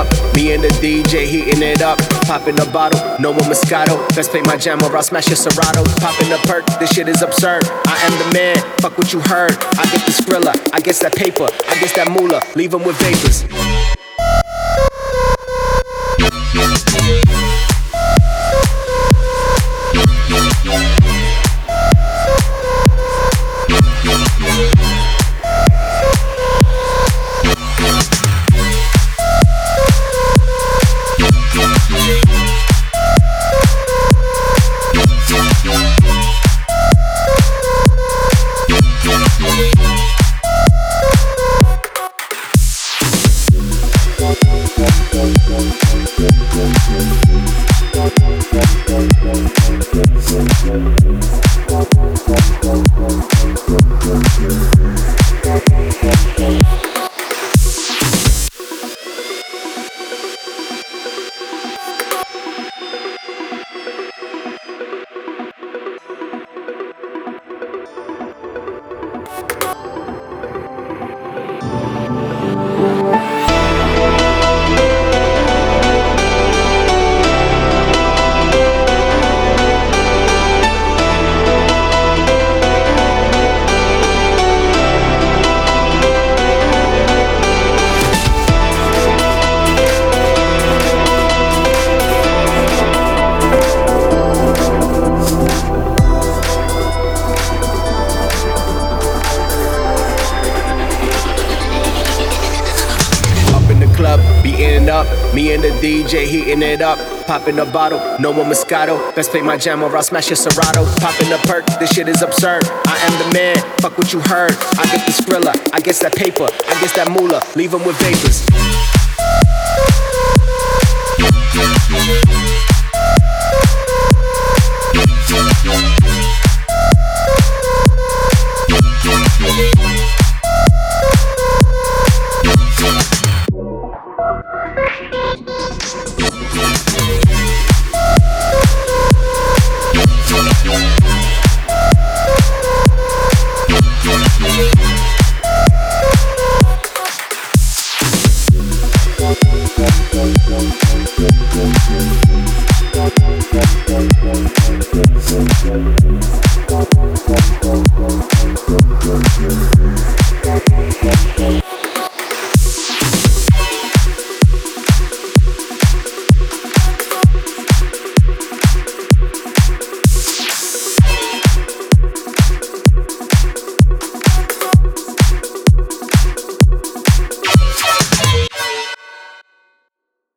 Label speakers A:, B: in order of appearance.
A: up, me and the DJ heating it up. Popping a bottle, no more Moscato. Best play my jam or I'll smash your Serato. Popping a perk, this shit is absurd. I am the man, fuck what you heard. I get the Skrilla, I guess that paper, I guess that moolah, leave them with vapors. Beating up, me and the DJ heating it up. Popping a bottle, no more Moscato. Best play my jam or I'll smash your Serato. Popping a perk, this shit is absurd. I am the man, fuck what you heard. I get the Skrilla, I guess that paper, I guess that moolah, leave them with vapors.
B: We'll be right back.